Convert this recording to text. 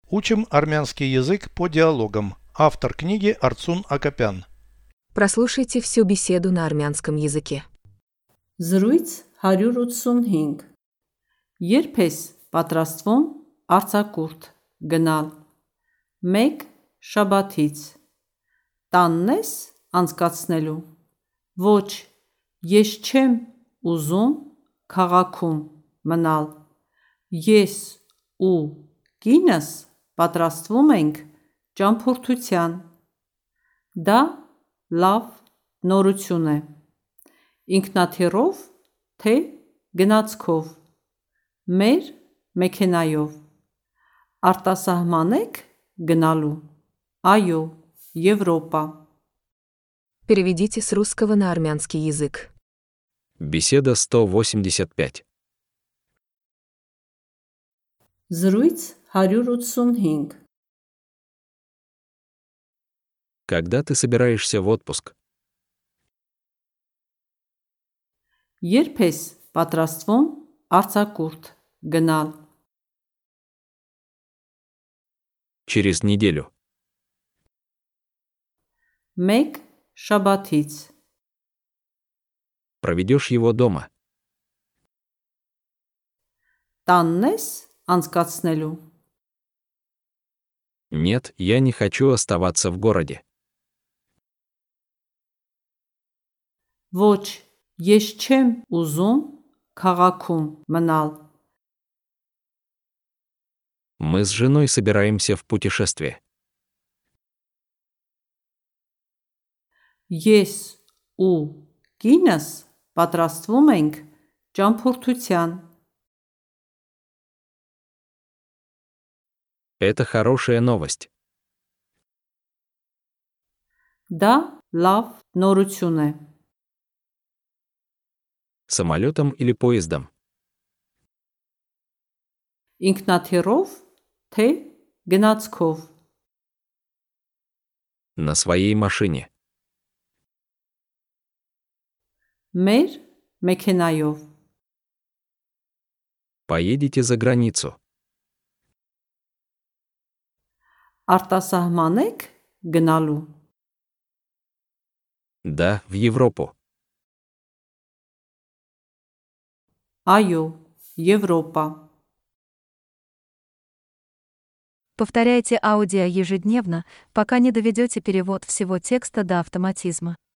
Учим армянский язык по диалогам. Автор книги Арцун Акопян. Прослушайте всю беседу на армянском языке. Զրույց 185 Երբ ես պատրաստվում արձակուրդ գնալ 1 շաբաթից տանն ես անցկացնելու Ոչ, ես չեմ ուզում քաղաքում մնալ Ես ու կինս պատրաստվում ենք ճամփորդության Դա լավ նորություն է Ինքնաթիռով թե գնացքով Մեր մեքենայով Արտասահման եք գնալու Այո, Եվրոպա Переведите с русского на армянский язык. Беседа 185. Զրույց 185 Когда ты собираешься в отпуск? Երբ ես պատրաստվում արձակուրդ գնալ Через неделю. 1 շաբաթից Проведешь его дома. Տանն ես անցկացնելու Нет, я не хочу оставаться в городе. Ոչ, ես չեմ ուզում քաղաքում մնալ Мы с женой собираемся в путешествие. Ես ու կինս պատրաստվում ենք ճամփորդության Это хорошая новость. Դա լավ նորություն է Самолетом или поездом? Ինքնաթիռով թե գնացքով На своей машине. Մեր մեքենայով Поедете за границу. Արտասահման եք գնալու Да, в Европу. Այո, Եվրոպա Повторяйте аудио ежедневно, пока не доведете перевод всего текста до автоматизма.